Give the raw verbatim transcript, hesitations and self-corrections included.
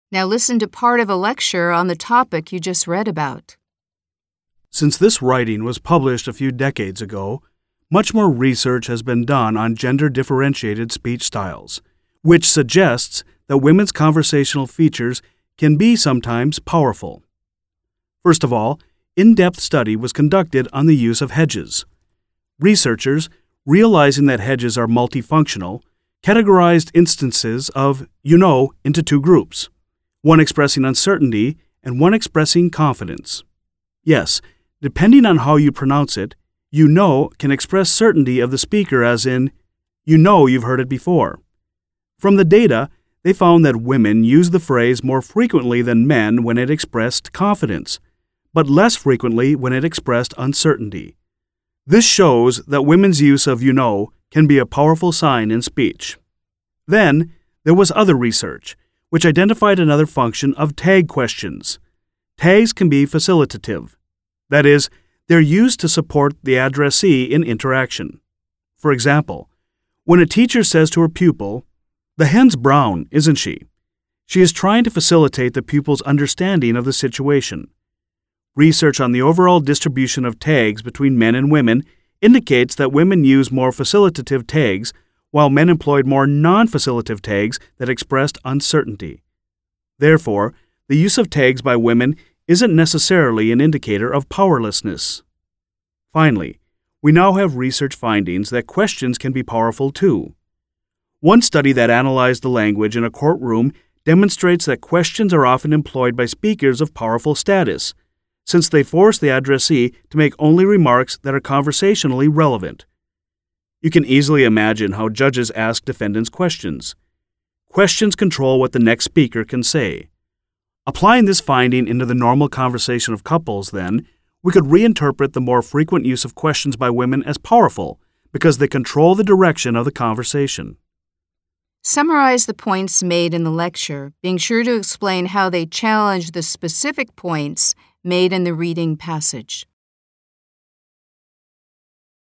Now listen to part of a lecture on the topic you just read about. Since this writing was published a few decades ago, much more research has been done on gender-differentiated speech styles, which suggests that women's conversational features can be sometimes powerful. First of all, in-depth study was conducted on the use of hedges. Researchers, realizing that hedges are multifunctional, categorized instances of you know into two groups, one expressing uncertainty and one expressing confidence. Yes, depending on how you pronounce it, you know can express certainty of the speaker as in, you know you've heard it before. From the data, they found that women used the phrase more frequently than men when it expressed confidence, but less frequently when it expressed uncertainty. This shows that women's use of you know can be a powerful sign in speech. Then, there was other research, which identified another function of tag questions. Tags can be facilitative. That is, they're used to support the addressee in interaction. For example, when a teacher says to her pupil, "The hen's brown, isn't she?" she is trying to facilitate the pupil's understanding of the situation. Research on the overall distribution of tags between men and women indicates that women use more facilitative tags, while men employed more non-facilitative tags that expressed uncertainty. Therefore, the use of tags by women isn't necessarily an indicator of powerlessness. Finally, we now have research findings that questions can be powerful too. One study that analyzed the language in a courtroom demonstrates that questions are often employed by speakers of powerful status, since they force the addressee to make only remarks that are conversationally relevant. You can easily imagine how judges ask defendants questions. Questions control what the next speaker can say. Applying this finding into the normal conversation of couples, then, we could reinterpret the more frequent use of questions by women as powerful because they control the direction of the conversation. Summarize the points made in the lecture, being sure to explain how they challenge the specific points made in the reading passage.